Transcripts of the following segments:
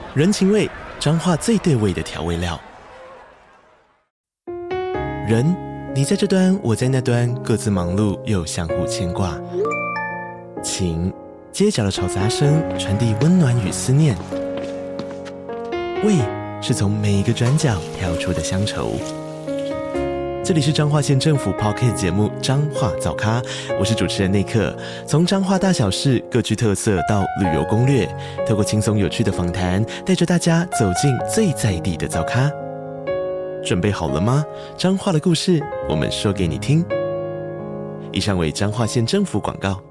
人情味，彰化最對味的調味料。人，你在這端，我在那端，各自忙碌又相互牽掛。情，街角的吵雜聲傳遞溫暖與思念。味，是從每一個轉角跳出的鄉愁。這裡是彰化縣政府 Podcast 節目《彰化早咖》，我是主持人內克。從彰化大小事各具特色到旅遊攻略，透過輕鬆有趣的訪談，帶着大家走進最在地的早咖。準備好了嗎？彰化的故事，我們說給你聽。以上為彰化縣政府廣告。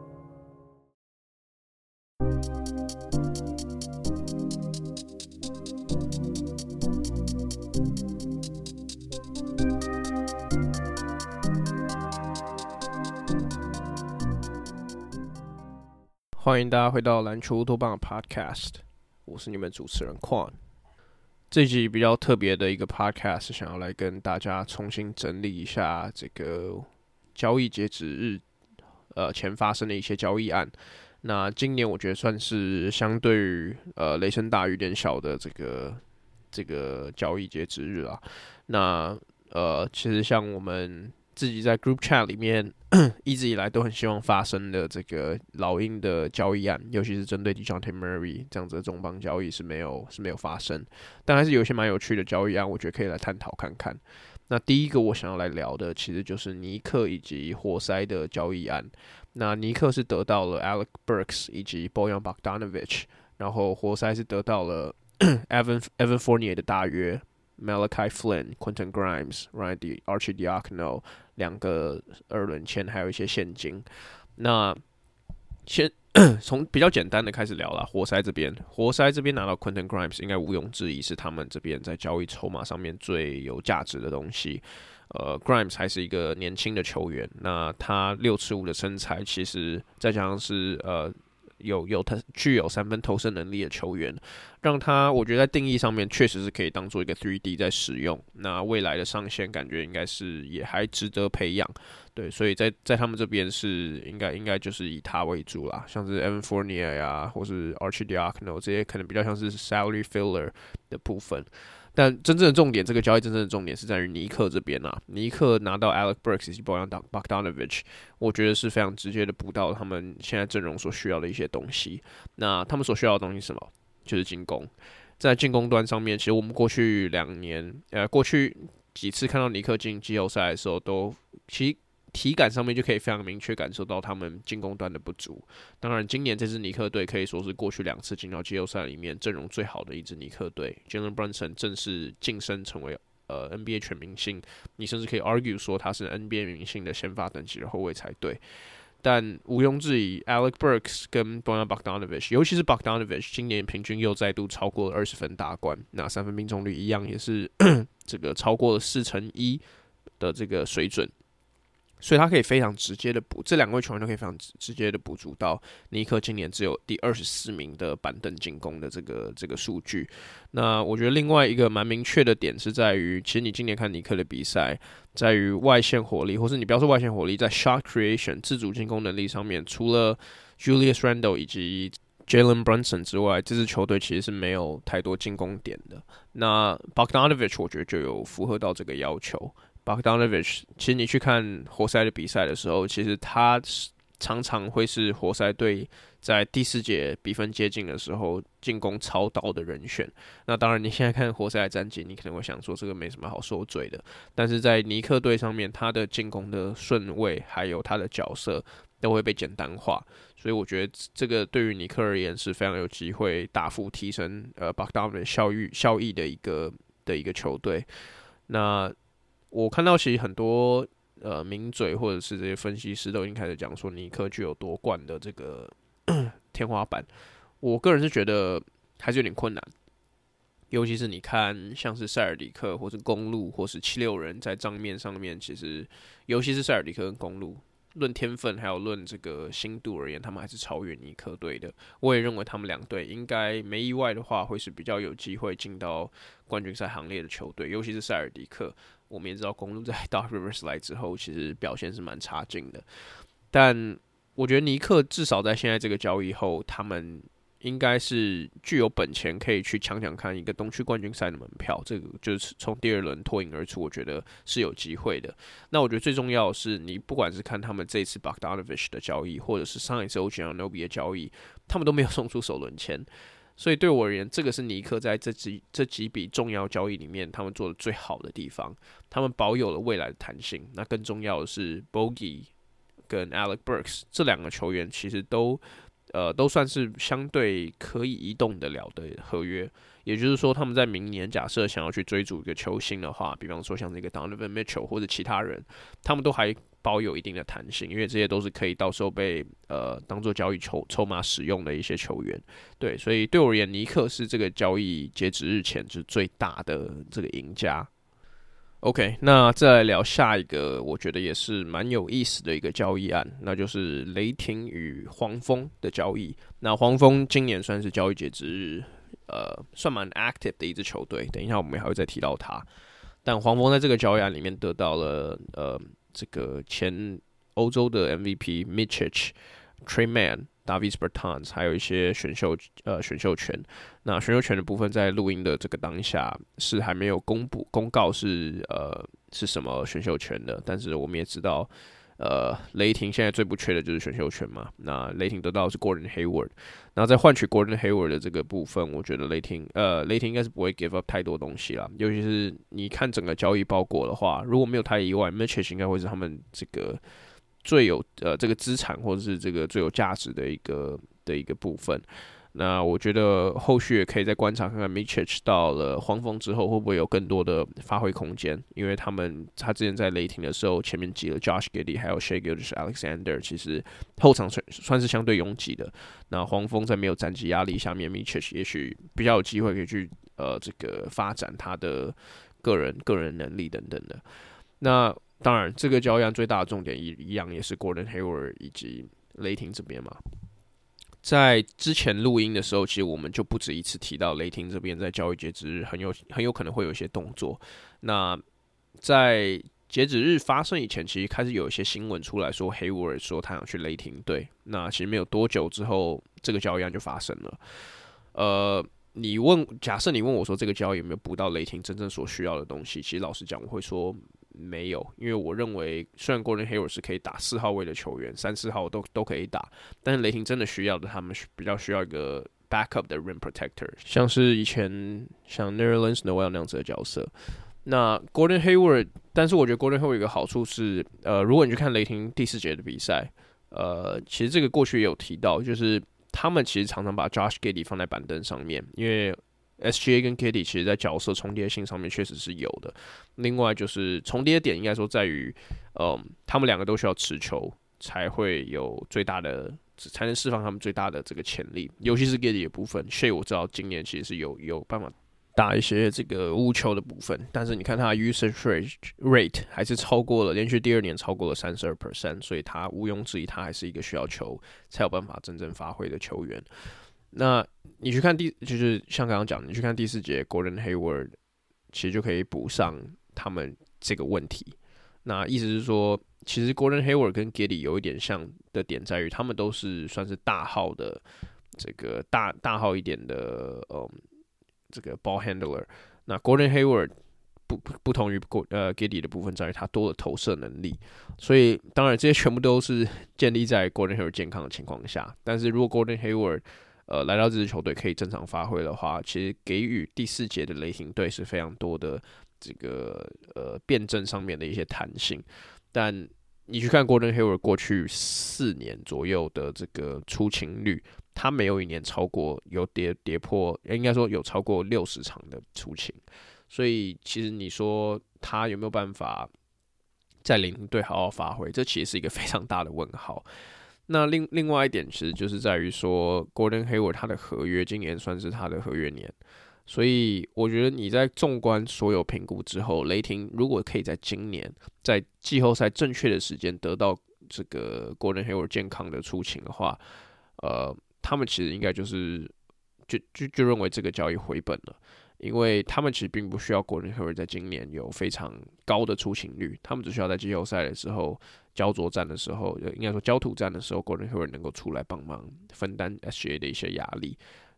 歡迎大家回到籃球烏托邦的 Podcast， 我是你們主持人 Quan。這一集比較特別的一個 Podcast， 想要來跟大家重新整理一下這個交易截止日前發生的一些交易案。那今年我覺得算是相對於雷聲大雨點小的這個交易截止日啦。那其實像我們自己在 Group Chat 裡面一直以來都很希望發生的這個老鷹的交易案，尤其是針對 DeJounte Murray 這樣子的重磅交易是沒有發生，但還是有一些蠻有趣的交易案，我覺得可以來探討看看。那第一個我想要來聊的，其實就是尼克以及活塞的交易案。那尼克是得到了 Alec Burks 以及 Bojan Bogdanovic， 然後活塞是得到了Evan Fournier 的大約。Malachi Flynn、Quentin Grimes、Archie Diacono 兩個2輪簽，還有一些現金。那先從比較簡單的開始聊啦。活塞這邊拿到 Quentin Grimes， 應該毋庸置疑是他們這邊在交易籌碼上面最有價值的東西。Grimes 還是一個年輕的球員，那他6'5" 的身材，其實再加上是具有3分投射能力的球員，讓他我覺得在定義上面確實是可以當做一個 3D 在使用。那未來的上限感覺應該是也還值得培養，對，所以在他們這邊是應該就是以他為主啦，像是 Evan Fournier 呀，或是 Archie Diacono 這些可能比較像是 salary filler 的部分。但真正的重點，這個交易真正的重點是在於尼克這邊啊。尼克拿到 Alec Burks 以及 Bojan Bogdanovic， 我覺得是非常直接的補到他們現在陣容所需要的一些東西。那他們所需要的東西是什麼？就是進攻。在進攻端上面，其實我們過去幾次看到尼克進季後賽的時候，其實體感上面就可以非常明確感受到他們進攻端的不足。當然，今年這支尼克隊可以說是過去2次進到季後賽裡面陣容最好的一支尼克隊。Jalen Brunson 正式晉升成為NBA 全明星，你甚至可以 argue 說他是 NBA 明星的先發等級的後衛才對。但毋庸置疑 ，Alec Burks 跟 Bojan Bogdanovic， 尤其是 Bogdanovic， 今年平均又再度超過了20分大關，那3分命中率一樣也是這個超過了1/4的這個水準。所以他可以非常直接的這兩位球員都可以非常直接的補足到尼克今年只有第24名的板凳進攻的這個數據。那我覺得另外一個蠻明確的點是在於，其實你今年看尼克的比賽，在於外線火力，或是你不要說外線火力，在 shot creation 自主進攻能力上面，除了 Julius Randle 以及 Jalen Brunson 之外，這支球隊其實是沒有太多進攻點的。那 Bogdanovic 我覺得就有符合到這個要求。Bogdanovic 其實你去看活塞的比賽的時候，其實他常常會是活塞隊在第4節比分接近的時候進攻操刀的人選。那當然你現在看活塞的戰績，你可能會想說這個沒什麼好說嘴的，但是在尼克隊上面，他的進攻的順位還有他的角色都會被簡單化，所以我覺得這個對於尼克而言是非常有機會大幅提升Bogdanovic 效益的一個球隊。那我看到其實很多名嘴或者是這些分析師都已經開始講說尼克具有奪冠的這個天花板，我個人是覺得還是有點困難，尤其是你看像是塞爾迪克或是公鹿或是76人在賬面上面，其實尤其是塞爾迪克跟公鹿，論天分還有論這個深度而言，他們還是超越尼克隊的。我也認為他們兩隊應該沒意外的話，會是比較有機會進到冠軍賽行列的球隊，尤其是塞爾迪克。我們也知道公鹿在 Doc Rivers 來之後，其實表現是蠻差勁的。但我覺得尼克至少在現在這個交易後，他們應該是具有本錢可以去搶看一個東區冠軍賽的門票，這個就是從第二輪脫穎而出，我覺得是有機會的。那我覺得最重要的是，你不管是看他們這一次 Bogdanovic 的交易，或者是上一次 OG Anunoby 的交易，他們都沒有送出首輪籤，所以對我而言，這個是尼克在這幾筆重要交易裡面他們做的最好的地方，他們保有了未來的彈性。那更重要的是 Bogey 跟 Alec Burks 這兩個球員其實都算是相對可以移動得了的合約，也就是說，他們在明年假設想要去追逐一個球星的話，比方說像這個 Donovan Mitchell 或者其他人，他們都還保有一定的彈性，因為這些都是可以到時候被當做交易籌碼使用的一些球員。對，所以對我而言，尼克是這個交易截止日前就是最大的這個贏家。OK， 那再來聊下一個，我覺得也是蠻有意思的一個交易案，那就是雷霆與黃蜂的交易。那黃蜂今年算是交易截止日，算蠻 active 的一支球隊。等一下我們還會再提到他。但黃蜂在這個交易案裡面得到了這個前歐洲的 MVP Micic、Tre Mann、Davis Bertans， 還有一些選秀權。那選秀權的部分在錄音的這個當下是還沒有公告是什麼選秀權的，但是我們也知道雷霆現在最不缺的就是選秀權嘛。那雷霆得到的是 Gordon Hayward， 然後在換取 Gordon Hayward 的這個部分，我覺得雷霆應該是不會 give up 太多東西啦，尤其是你看整個交易包裹的話，如果沒有太意外 Micic 應該會是他們這個最有這個資產或者是這個最有價值的一個部分。那我覺得後續也可以再觀察看看 Micic 到了黃蜂之後會不會有更多的發揮空間，因為他之前在雷霆的時候前面擠了 Josh Giddey 還有 Shai Gilgeous-Alexander， 其實後場算是相對擁擠的。那黃蜂在沒有戰績壓力下面 Micic 也許比較有機會可以去這個發展他的個人能力等等的。那當然這個交易案最大的重點一樣也是 Gordon Hayward 以及雷霆這邊嘛。在之前錄音的時候，其實我們就不止一次提到雷霆這邊在交易截止日很有可能會有一些動作。那在截止日發生以前，其實開始有一些新聞出來說 Hayward 說他想去雷霆隊。那其實沒有多久之後，這個交易案就發生了。假設你問我說這個交易有沒有補到雷霆真正所需要的東西，其實老實講我會說沒有，因為我認為雖然 Gordon Hayward 是可以打4號位的球員，3、4號都可以打，但是雷霆真的需要的，他們比較需要一個 backup 的 rim protector， 像是以前像 Nerlens Noel 那樣子的角色。那 Gordon Hayward， 但是我覺得 Gordon Hayward 有一個好處是，如果你去看雷霆第4節的比賽，其實這個過去也有提到，就是他們其實常常把 Josh Giddey 放在板凳上面，因為SGA 跟 Giddey 其實在角色重疊性上面確實是有的。另外就是重疊點應該說在於，他們兩個都需要持球才會有最大的，才能釋放他們最大的這個潛力。尤其是 Giddey 的部分 ，Shai 我知道今年其實是有辦法打一些這個無球的部分，但是你看他的 usage rate 還是超過了，連續第2年超過了 32%， 所以他毋庸置疑他還是一個需要球才有辦法真正發揮的球員。那你去看就是像剛剛講，你去看第4節 Gordon Hayward 其實就可以補上他們這個問題。那意思是說，其實 Gordon Hayward 跟 Giddey 有一點像的點在於，他們都是算是大號的這個大號一點的這個 ball handler。那 Gordon Hayward 不同於Giddey 的部分在於他多了投射能力，所以當然這些全部都是建立在 Gordon Hayward 健康的情況下。但是如果 Gordon Hayward來到這支球隊可以正常發揮的話，其實給予第4節的雷霆隊是非常多的這個辯證上面的一些彈性。但你去看 Gordon Hayward 過去4年左右的這個出勤率，他沒有一年超過有跌破，應該說有超過60場的出勤。所以其實你說他有沒有辦法在雷霆隊好好發揮，這其實是一個非常大的問號。那另外一點其實就是在於說 Gordon Hayward 他的合約今年算是他的合約年，所以我覺得你在縱觀所有評估之後，雷霆如果可以在今年在季後賽正確的時間得到這個 Gordon Hayward 健康的出勤的話，他們其實應該就認為這個交易回本了。因為他們其實並不需要 Gordon Hayward 在今年有非常高的出勤率，他們只需要在季後賽的時候、焦灼戰的時候，應該說焦土戰的時候 ，Gordon Hayward 能夠出來幫忙分擔 SGA 的一些壓力。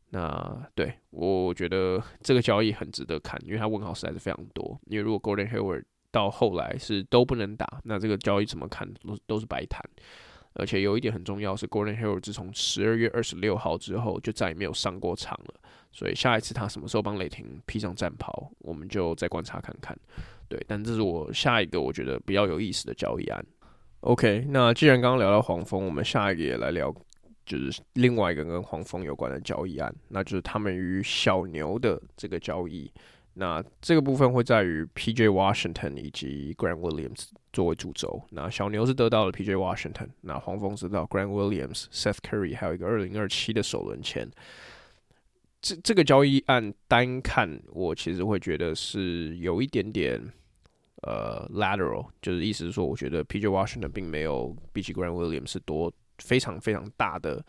那對我覺得這個交易很值得看，因為他問號實在是非常多。因為如果 Gordon Hayward 到後來是都不能打，那這個交易怎麼看都是白談。而且有一點很重要是 Gordon Hayward 自從12月26號之後就再也沒有上過場了，所以下一次他什麼時候幫雷霆披上戰袍，我們就再觀察看看。對，但這是我下一個我覺得比較有意思的交易案。OK， 那既然剛剛聊到黃蜂，我們下一個也來聊。就是另外一個跟黃蜂有關的交易案，那就是他們與小牛的這個交易。那這個部分會在於 P.J. Washington 以及 Grant Williams 作為主軸。那小牛是得到了 P.J. Washington， 那黃蜂是得到 Grant Williams、Seth Curry， 還有一個2027的首輪籤。這個交易案單看，我其實會覺得是有一點點lateral， 就是意思是說，我覺得 P.J. Washington 並沒有比起 Grant Williams 是多非常非常大的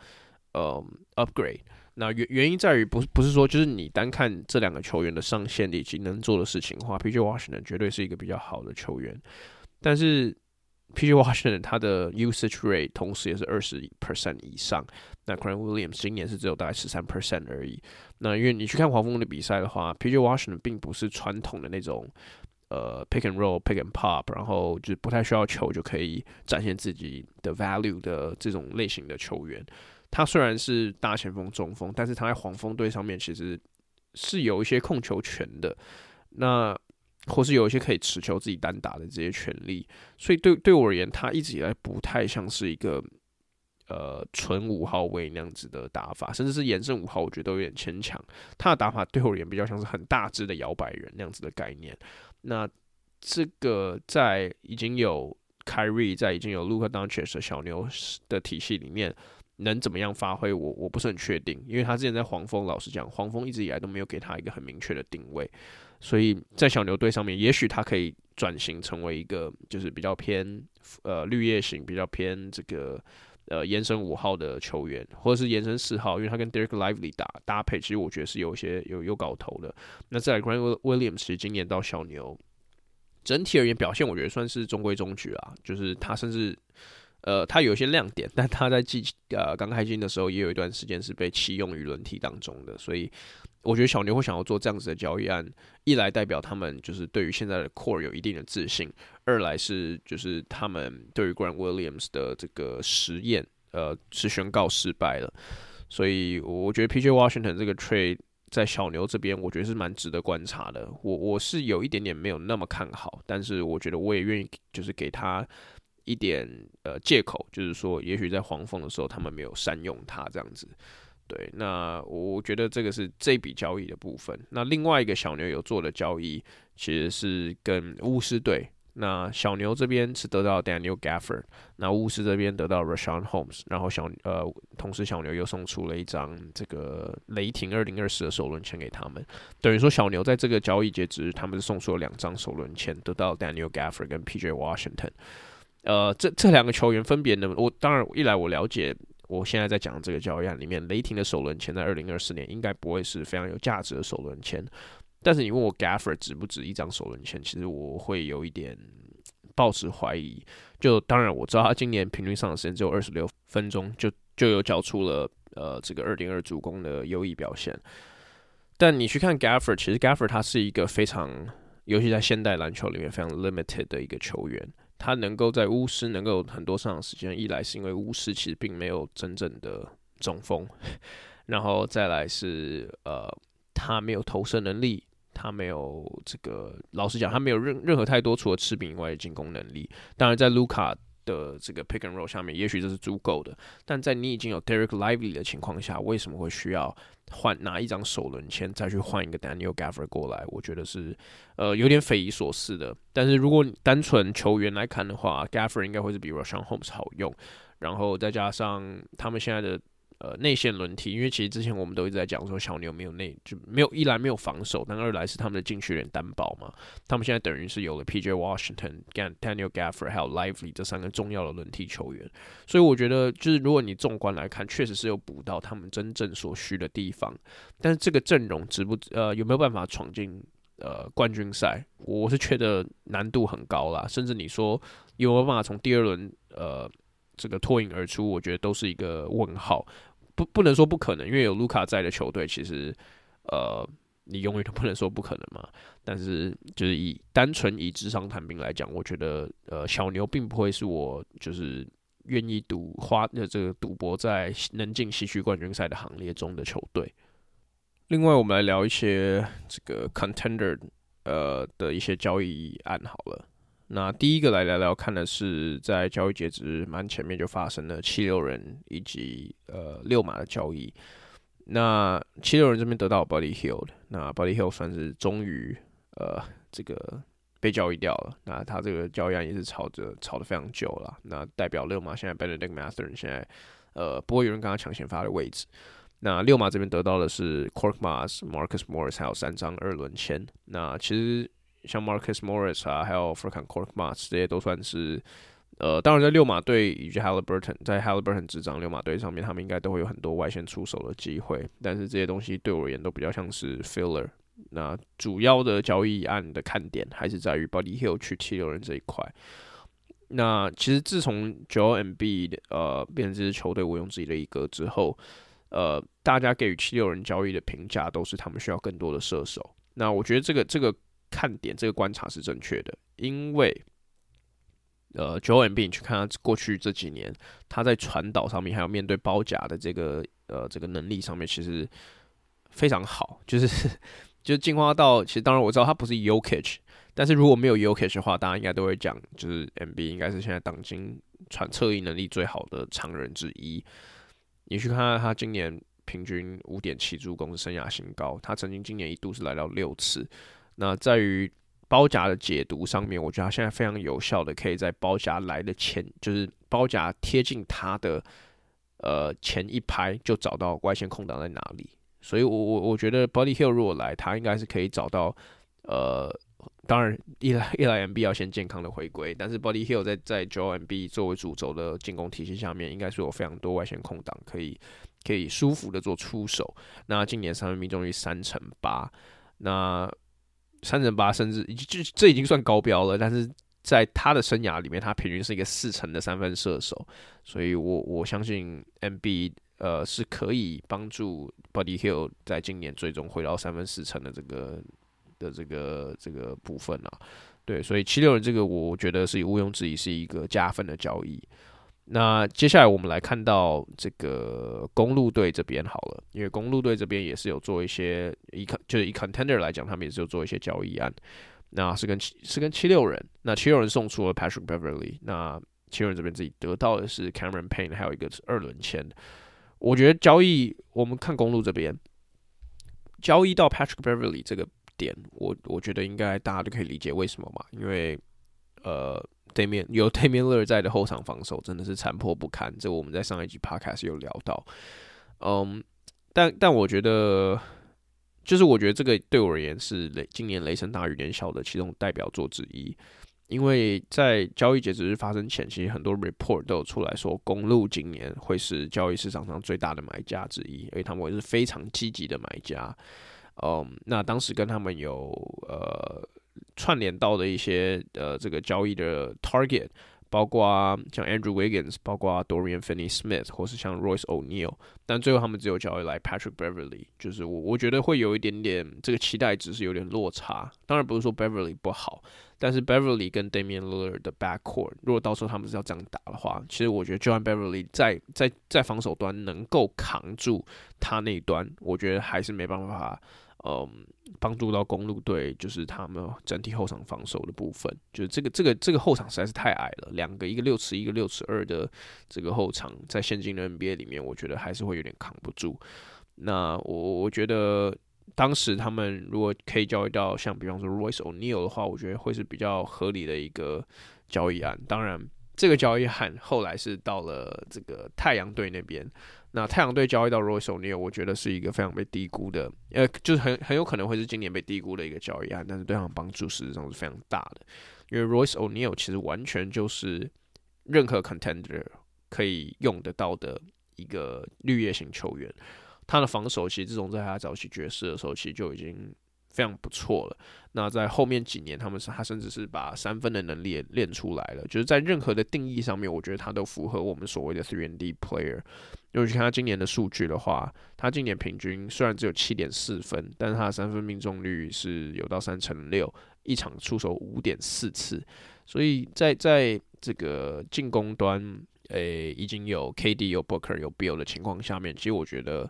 upgrade。那原因在於不是說就是你單看這兩個球員的上限以及能做的事情的話 ，P.J. Washington 絕對是一個比較好的球員。但是 P.J. Washington 他的 usage rate 同時也是20% 以上，那 Grant Williams 今年是只有大概13% 而已。那因為你去看黃蜂的比賽的話 ，P.J. Washington 並不是傳統的那種。pick and roll、pick and pop， 然後就是不太需要球就可以展現自己的 value 的這種類型的球員。他雖然是大前鋒、中鋒，但是他在黃蜂隊上面其實是有一些控球權的，那或是有一些可以持球自己單打的這些權利。所以對我而言，他一直以來不太像是一個純5號位那樣子的打法，甚至是延伸5號，我覺得都有點牽強。他的打法對我而言比較像是很大只的搖擺人那樣子的概念。那這個在已經有 Kyrie 在已經有 Luka Doncic 的小牛的體系裡面能怎麼樣發揮，我不是很確定，因為他之前在黃蜂，老實講，黃蜂一直以來都沒有給他一個很明確的定位，所以在小牛隊上面，也許他可以轉型成為一個就是比較偏綠葉型，比較偏這個延伸5號的球員，或者是延伸4號，因為他跟 Derek Lively 搭配，其實我覺得是有一些有搞頭的。那再來 Grant Williams 其實今年到小牛，整體而言表現我覺得算是中規中矩啦，就是他甚至他有一些亮點，但他在剛開季的時候也有一段時間是被棄用於輪替當中的，所以我覺得小牛會想要做這樣子的交易案，一來代表他們就是對於現在的 core 有一定的自信，二來是就是他們對於 Grant Williams 的這個實驗是宣告失敗了，所以我覺得 P.J. Washington 這個 trade 在小牛這邊我覺得是蠻值得觀察的，我是有一點點沒有那麼看好，但是我覺得我也願意就是給他一點借口，就是說也許在黃蜂的時候他們沒有善用他這樣子。對，那我覺得這個是這筆交易的部分。那另外一個小牛有做的交易，其實是跟巫師隊。那小牛這邊是得到 Daniel Gafford， 那巫師這邊得到 Richaun Holmes， 然後同時小牛又送出了一張這個雷霆2020的首輪籤給他們。等於說小牛在這個交易截止日，他們是送出了2張首輪籤，得到 Daniel Gafford 跟 P.J. Washington。這兩個球員分別呢，當然一來我了解。我現在在講的這個交易案裡面，雷霆的首輪籤在2024年應該不會是非常有價值的首輪籤，但是你問我 Gafford 值不值一張首輪籤，其實我會有一點抱持懷疑。就當然我知道他今年平均上的時間只有26分鐘，就有繳出了這個2.2助攻的優異表現。但你去看 Gafford， 其實 Gafford 他是一個非常，尤其在現代籃球裡面非常 limited 的一個球員。他能夠在巫師能夠有很多上場時間，一來是因為巫師其實並沒有真正的中鋒，然後再來是他沒有投射能力，他沒有這個，老實講他沒有任何太多除了吃餅以外的進攻能力。當然在 Luka 的這個 pick and roll 下面，也許這是足夠的，但在你已經有 Derek Lively 的情況下，為什麼會需要拿一張首輪籤再去換一個 Daniel Gafford 過來？我覺得是有點匪夷所思的。但是如果你單純球員來看的話 ，Gafford 應該會是比 Richaun Holmes 好用，然後再加上他們现在的內線輪替，因為其實之前我們都一直在講說小牛一來沒有防守，但二來是他們的禁區有點單薄嘛。他們現在等於是有了 P.J. Washington、Daniel Gafford 還有 Lively 這3個重要的輪替球員，所以我覺得就是如果你縱觀來看，確實是有補到他們真正所需的地方。但是這個陣容有沒有辦法闖進冠軍賽？我是覺得難度很高啦，甚至你說有沒有辦法從第2輪這個脫穎而出，我覺得都是一個問號。 不能說不可能，因為有盧卡在的球隊，其實你永遠都不能說不可能嘛。但是就是單純以紙上談兵來講，我覺得小牛並不會是我就是願意花這個賭博在能進西區冠軍賽的行列中的球隊。另外，我們來聊一些這個 contender 的一些交易案好了。那第一個來聊聊看的是在交易截止蠻前面就發生了76人以及溜馬的交易。那76人這邊得到 Buddy Hield， 那 Buddy Hield 算是終於這個被交易掉了。那他這個交易案也是吵得非常久了。那代表溜馬現在 Benedict Mathurin 現在不會有人跟他搶先發的位置。那溜馬這邊得到的是 Korkmaz、Marcus Morris 還有3張2輪簽。那其實像 Marcus Morris 啊，還有 Furkan Korkmaz 這些都算是當然在溜馬隊以及 Haliburton 在 Haliburton 執掌溜馬隊上面，他們應該都會有很多外線出手的機會。但是這些東西對我而言都比較像是 filler。那主要的交易案的看點還是在於 Buddy Hield 去76人這一塊。那其實自從 Joel Embiid 變成這支球隊毋庸置疑的一哥之後，大家給予76人交易的評價都是他們需要更多的射手。那我覺得這個看點，這個觀察是正確的，因為Joel Embiid 去看他過去這幾年，他在傳導上面還有面對包夾的這個能力上面，其實非常好，就是進化到，其實當然我知道他不是 Jokic， 但是如果沒有 Jokic 的話，大家應該都會講，就是 Embiid 應該是現在當今側翼能力最好的常人之一。你去看他今年平均 5.7 助攻是生涯新高，他曾經今年一度是來到6次。那在於包夾的解讀上面，我覺得他現在非常有效的，可以在包夾來的前，就是包夾貼近他的前一拍就找到外線空檔在哪裡。所以我覺得 Buddy Hield 如果來，他應該是可以找到當然一來 Embiid 要先健康的回歸，但是 Buddy Hield 在 Joel Embiid 作為主軸的進攻體系下面，應該是有非常多外線空檔可以舒服的做出手。那今年三分命中率3成8%，那3成8甚至這已經算高標了，但是在他的生涯裡面，他平均是一個4成的三分射手，所以我相信 Embiid是可以幫助 Buddy Hield 在今年最終回到3分4成的這個部分啊。對，所以76人這個我覺得是毋庸置疑是一個加分的交易。那接下來我們來看到這個公鹿隊這邊好了，因為公鹿隊這邊也是有做一些就是以 contender 來講，他們也是有做一些交易案。那是跟76人，那76人送出了 Patrick Beverly， 那76人這邊自己得到的是 Cameron Payne， 還有一個2輪簽。我覺得交易，我們看公鹿這邊交易到 Patrick Beverly 這個點，我覺得應該大家都可以理解為什麼嘛，因為有 Damian Lillard 在的後場防守真的是殘破不堪，這我們在上一集 Podcast 有聊到。但我覺得，就是我覺得這個對我而言是今年雷聲大雨點小的其中代表作之一。因為在交易截止日發生前，其實很多 report 都有出來說，公鹿今年會是交易市場上最大的買家之一，而且他們會是非常積極的買家。那當時跟他們有串聯到的一些這個交易的 target， 包括像 Andrew Wiggins， 包括 Dorian Finney-Smith， 或是像 Royce O'Neal， 但最後他們只有交易來 Patrick Beverly， 就是我覺得會有一點點這個期待值是有點落差。當然不是說 Beverly 不好，但是 Beverly 跟 Damian Lillard 的 backcourt， 如果到時候他們是要這樣打的話，其實我覺得就算 Beverly 在防守端能夠扛住他那一端，我覺得還是沒辦法幫助到公鹿隊，就是他們整體後場防守的部分，就是這個後場實在是太矮了，兩個一個6尺1，一個6尺2的這個後場，在現今的 NBA 裡面，我覺得還是會有點扛不住。那我覺得當時他們如果可以交易到像比方說 Royce O'Neal 的話，我覺得會是比較合理的一個交易案。當然，這個交易案後來是到了這個太陽隊那邊。那太陽隊交易到 Royce O'Neal， 我覺得是一個非常被低估的，就是很有可能會是今年被低估的一個交易案，但是对他們幫助實際上是非常大的。因為 Royce O'Neal 其實完全就是任何 contender 可以用得到的一個綠葉型球員，他的防守其實自從在他早期爵士的時候，其實就已經非常不錯了。那在後面幾年，他甚至是把3分的能力也練出來了，就是在任何的定義上面，我覺得他都符合我們所謂的 3&D player。如果去看他今年的數據的話，他今年平均雖然只有7.4分，但是他的3分命中率是有到3/6，一場出手5.4次，所以在這個進攻端，已經有 KD 有 Booker 有 Beal 的情況下面，其實我覺得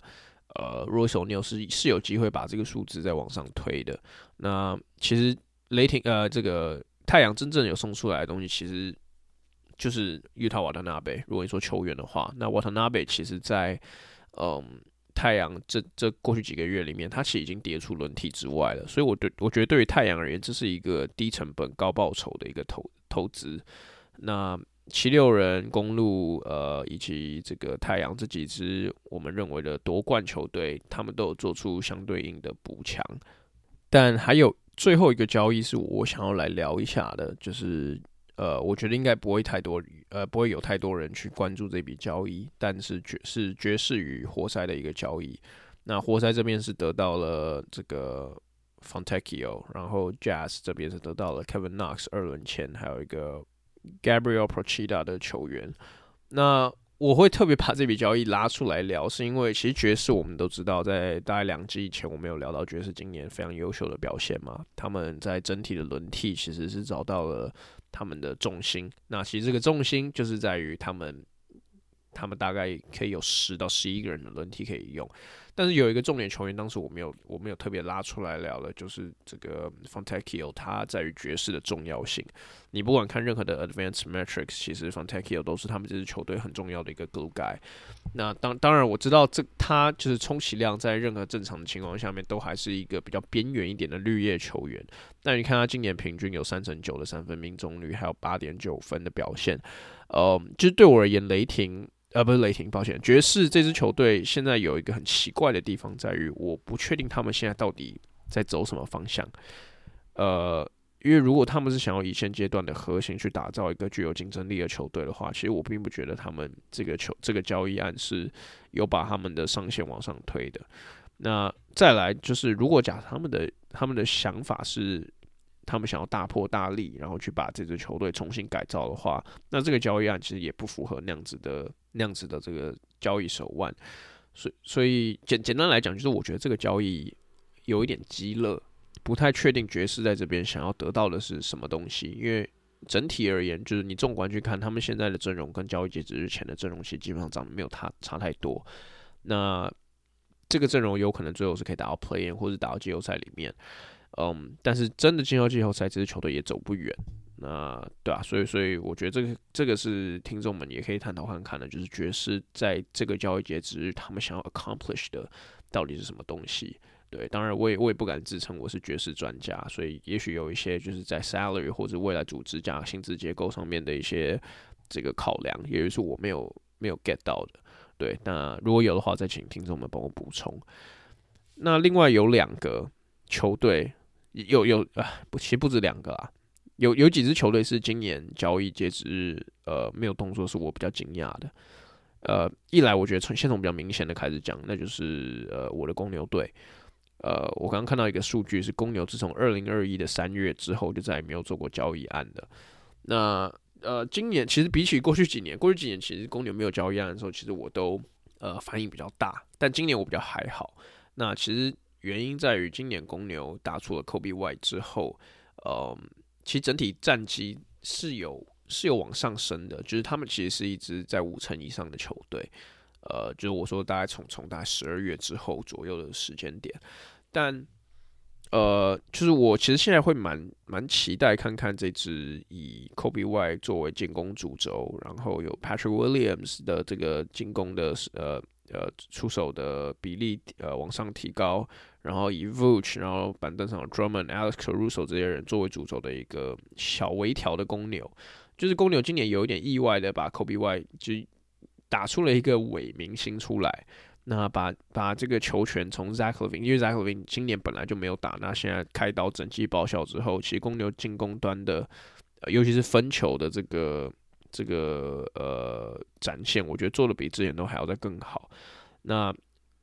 Royce O'Neal 是有機會把這個數字再往上推的。那其實這個太陽真正有送出來的東西，其實就是Yuta Watanabe。如果你說球員的話，那 Watanabe 其實在太陽這過去幾個月裡面，他其實已經跌出輪替之外了。所以我覺得對於太陽而言，這是一個低成本高報酬的一個投資。那76人、公鹿以及這個太陽這幾支我們認為的奪冠球隊，他們都有做出相對應的補強。但還有最後一個交易是我想要來聊一下的，就是我覺得應該不會有太多人去關注這筆交易，但是爵士與活塞的一個交易。那活塞這邊是得到了這個 Fontecchio， 然後 Jazz 這邊是得到了 Kevin Knox 2輪簽，還有一個 Gabriel Procida 的球員。那我會特別把這筆交易拉出來聊，是因為其實爵士我們都知道，在大概2季以前，我們有聊到爵士今年非常優秀的表現嘛。他們在整體的輪替其實是找到了他們的重心。那其實這個重心就是在於他們大概可以有10到11個人的輪替可以用。但是有一個重點球員，當時我沒有特別拉出來聊的，就是這個 Fontecchio， 他在於爵士的重要性。你不管看任何的 advanced metrics， 其實 Fontecchio 都是他們這支球隊很重要的一個 glue guy。那当然我知道他就是充其量在任何正常的情況下面，都還是一個比較邊緣一點的綠葉球員。那你看他今年平均有3/9的3分命中率，還有8.9分的表現。就是對我而言，不是雷霆，抱歉，爵士這支球隊現在有一個很奇怪的地方，在於我不確定他們現在到底在走什麼方向。因為如果他們是想要以現階段的核心去打造一個具有競爭力的球隊的話，其實我並不覺得他們這個交易案是有把他們的上限往上推的。那再來就是，如果假設他們的想法是他們想要大破大立，然後去把這支球隊重新改造的話，那這個交易案其實也不符合那樣子的這個交易手腕。所以簡單來講，就是我覺得這個交易有一點雞肋，不太確定爵士在這邊想要得到的是什麼東西。因為整體而言，就是你縱觀去看他們現在的陣容跟交易截止日前的陣容，其實基本上長得沒有差太多。那這個陣容有可能最後是可以打到 play-in 或者打到季後賽裡面。但是真的進到季後賽，這支球隊也走不遠。那對啊，所以我覺得這個是聽眾們也可以探討看看的，就是爵士在這個交易截止日，他們想要 accomplish 的到底是什麼東西？對，當然我也不敢自稱我是爵士專家，所以也許有一些就是在 salary 或者未來組織架薪資結構上面的一些這個考量，也就是我沒有 get 到的。對，那如果有的話，再請聽眾們幫我補充。那另外有2個球隊。其實不止2個啦，有幾支球隊是今年交易截止日沒有動作，是我比較驚訝的。一來我覺得先從比較明顯的開始講，那就是我的公牛隊。我剛剛看到一個數據是，公牛自從2021的3月之後就再也沒有做過交易案的。那今年其實比起過去幾年其實公牛沒有交易案的時候，其實我都反應比較大，但今年我比較還好。那其實原因在於今年公牛打出了 Kobe White 之後，其實整體戰績是有往上升的，就是他們其實是一支在5成以上的球隊，就是我說大概從大概12月之後左右的時間點，但就是我其實現在會蠻期待看看這支以 Kobe White 作為進攻主軸，然後有 Patrick Williams 的這個進攻的出手的比例往上提高，然後以 Vooch 然後板凳上有 Drummond、Alex Caruso 這些人作為主軸的一個小微調的公牛，就是公牛今年有一點意外的把 Kobe White 就打出了一個偽明星出來，那把這個球權從 Zach LaVine， 因為 Zach LaVine 今年本來就沒有打，那現在開刀整季報銷之後，其實公牛進攻端的尤其是分球的這個展現，我覺得做的比之前都還要再更好。那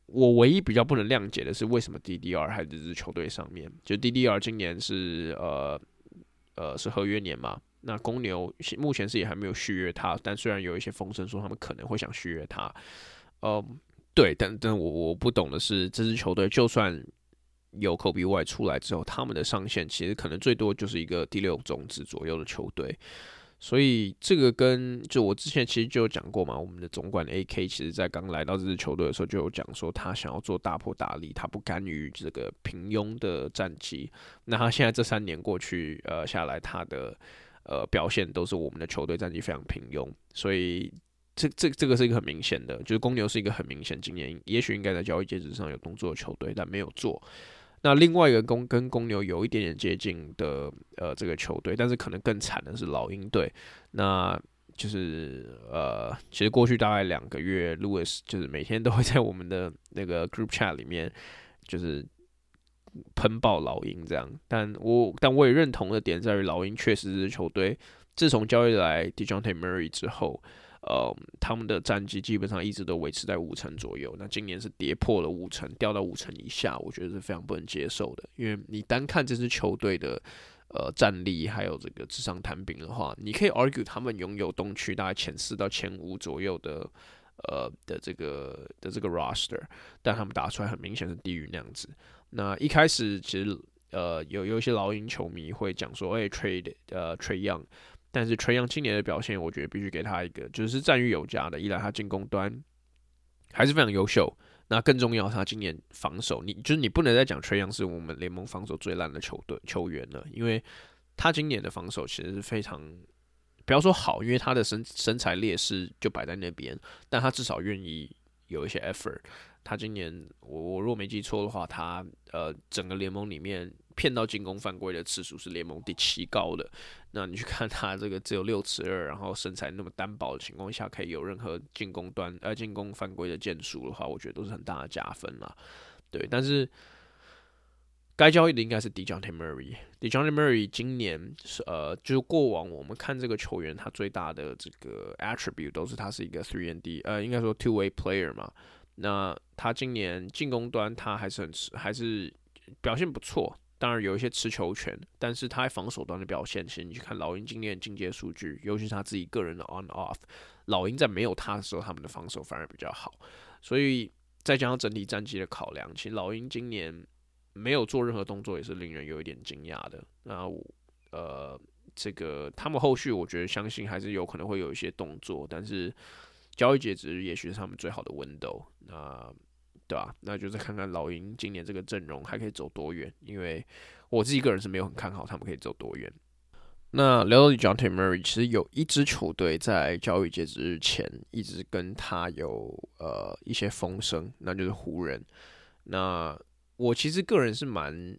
我唯一比較不能諒解的是，為什麼 DDR 還在這支球隊上面？就 DDR 今年是是合約年嘛？那公牛目前是也還沒有續約他，但雖然有一些風聲說他們可能會想續約他，對，但我不懂的是，這支球隊就算有 Kobe White 出來之後，他們的上限其實可能最多就是一個第6種子左右的球隊。所以這個就我之前其實就有講過嘛，我們的總管 AK 其實在剛來到這支球隊的時候就有講說，他想要做大破大立，他不甘於這個平庸的戰績。那他現在這3年過去下來，他的表現都是我們的球隊戰績非常平庸，所以這個是一個很明顯的，就是公牛是一個很明顯今年也許應該在交易截止上有動作的球隊，但沒有做。那另外一個跟公牛有一點點接近的這個球隊，但是可能更慘的是老鷹隊。那就是其實過去大概2個月 ，Lewis 就是每天都會在我們的那個 group chat 裡面就是噴爆老鷹這樣。但我也認同的點在於，老鷹確實是球隊自從交易來 DeJounte Murray 之後。他們的戰績基本上一直都維持在5成左右。那今年是跌破了5成，掉到5成以下，我覺得是非常不能接受的。因為你單看這支球隊的戰力，還有這個紙上談兵的話，你可以 argue 他們擁有東區大概前4到前5左右的這個 roster， 但他們打出來很明顯是低於那樣子。那一開始其實有一些老鷹球迷會講說，trade Young。但是Trae Young今年的表現，我覺得必須給他一個，就是讚譽有加的。一來他進攻端還是非常優秀，那更重要，他今年防守，你不能再講Trae Young是我們聯盟防守最爛的球員了，因為他今年的防守其實是非常，不要說好，因為他的身材劣勢就擺在那邊，但他至少願意有一些 effort。他今年我如果沒記錯的話，他整個聯盟裡面騙到進攻犯規的次數是聯盟第7高的。那你去看他這個只有6尺2，然後身材那麼單薄的情況下，可以有任何進攻犯規的件數的話，我覺得都是很大的加分啦。對，但是該交易的應該是 DeJounte Murray。DeJounte Murray 今年就是過往我們看這個球員，他最大的這個 attribute 都是他是一個 3&D， 應該說 two-way player 嘛。那他今年進攻端他還是表現不錯，當然有一些持球權，但是他在防守端的表現，其實你去看老鷹今年的進階數據，尤其是他自己個人的 on-off， 老鷹在沒有他的時候，他們的防守反而比較好。所以再加上整體戰績的考量，其實老鷹今年沒有做任何動作，也是令人有一點驚訝的。那這個他們後續我覺得相信還是有可能會有一些動作，但是交易截止日也許是他們最好的 window， 對吧？那就再看看老鷹今年這個陣容還可以走多遠，因為我自己個人是沒有很看好他們可以走多遠。那聊到 DeJounte Murray， 其實有一支球隊在交易截止日前一直跟他有一些風聲，那就是湖人。那我其實個人是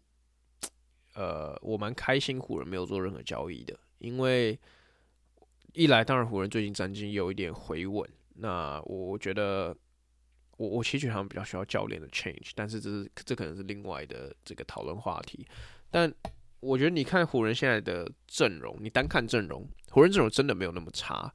我蠻開心湖人沒有做任何交易的，因為一來當然湖人最近戰績有一點回穩。那我覺得，我其實覺得他們比較需要教練的 change， 但是這可能是另外的這個討論話題。但我覺得你看湖人現在的陣容，你單看陣容，湖人陣容真的沒有那麼差。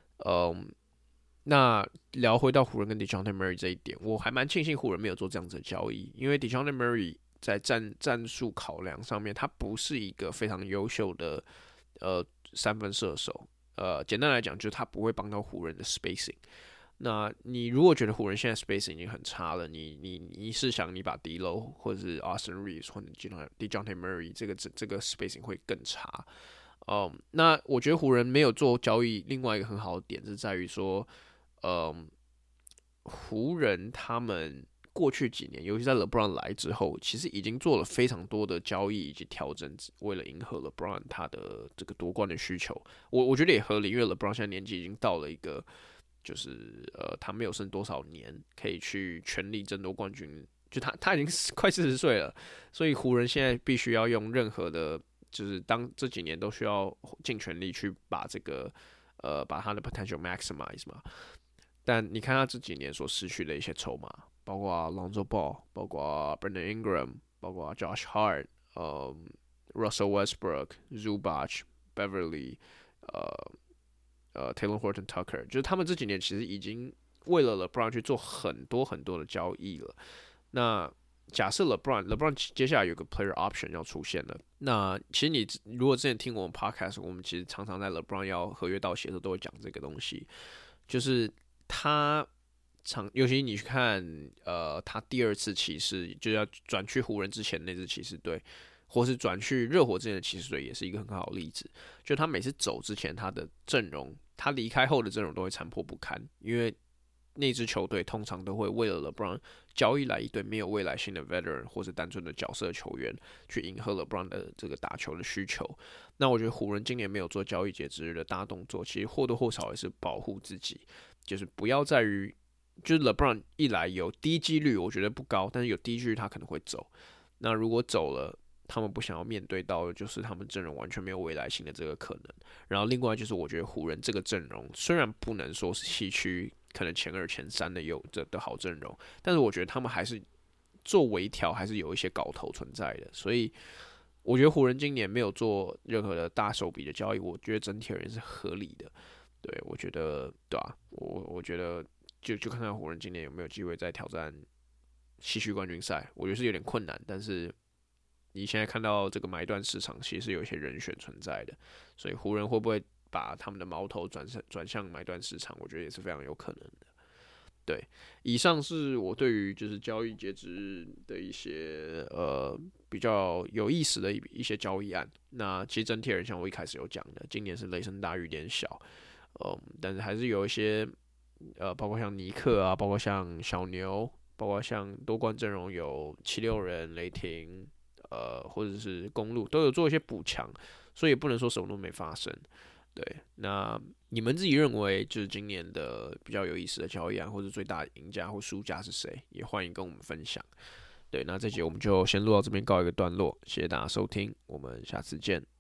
那聊回到湖人跟 DeJounte Murray 這一點，我還蠻慶幸湖人沒有做這樣子的交易，因為 DeJounte Murray 在戰術考量上面，他不是一個非常優秀的三分射手。簡單來講，就是他不會幫到湖人的 spacing。那你如果覺得湖人現在 spacing 已經很差了，你試想你把 D'Lo 或者是 Austin Reeves 或者 DeJounte Murray 這個 spacing 會更差。那我覺得湖人沒有做交易，另外一個很好的點是在於說，湖人他們過去幾年，尤其在 LeBron 來之後，其實已經做了非常多的交易以及調整，為了迎合 LeBron 他的這個奪冠的需求。我覺得也合理，因為 LeBron 現在年紀已經到了一個，就是他沒有剩多少年可以去全力爭奪冠軍，就他已經快40歲了，所以湖人現在必須要用任何的，就是當這幾年都需要盡全力去把這個把他的 potential maximize 嘛。但你看他這幾年所失去的一些籌碼，包括 Lonzo Ball， 包括 Brandon Ingram， 包括 Josh Hart，Russell Westbrook，Zubac，Beverly，Taylor Horton Tucker， 就是他們這幾年其實已經為了 LeBron 去做很多很多的交易了。那假設 LeBron 接下來有個 player option 要出現了，那其實你如果之前聽我們 podcast， 我們其實常常在 LeBron 要合約到期的時候都會講這個東西，就是尤其你去看他第二次騎士就要轉去湖人之前那支騎士隊，或是轉去熱火之前的騎士隊，也是一個很好的例子。就他每次走之前，他的陣容，他離開後的陣容都會殘破不堪，因為那支球隊通常都會為了 LeBron 交易來一堆沒有未來性的 veteran 或是單純的角色球員，去迎合 LeBron 的這個打球的需求。那我覺得湖人今年沒有做交易截止日的大動作，其實或多或少也是保護自己，就是不要在於就是 LeBron 一來有低幾率，我覺得不高，但是有低幾率他可能會走。那如果走了，他們不想要面對到的就是他們陣容完全沒有未來性的這個可能。然後另外就是我覺得湖人這個陣容雖然不能說是西區可能前2、前3的好陣容，但是我覺得他們還是做微調，還是有一些搞頭存在的。所以我覺得湖人今年沒有做任何的大手筆的交易，我覺得整體而言是合理的。對，我覺得对啊，我覺得就看看湖人今年有沒有機會再挑戰西区冠軍賽，我覺得是有點困難，但是你現在看到這個買斷市場其實是有一些人選存在的，所以湖人會不會把他們的矛頭轉向買斷市場，我覺得也是非常有可能的。對，以上是我對於就是交易截止日的一些比較有意思的一些交易案。那其實整體而言，像我一開始有講的，今年是雷聲大雨點小，但是還是有一些包括像尼克啊，包括像小牛，包括像多冠陣容有76人、雷霆。或者是公路都有做一些補強，所以也不能說什麼都沒發生。對，那你們自己認為就是今年的比較有意思的交易案，或者最大的贏家或輸家是誰？也歡迎跟我們分享。對，那這集我們就先錄到這邊告一個段落，謝謝大家收聽，我們下次見。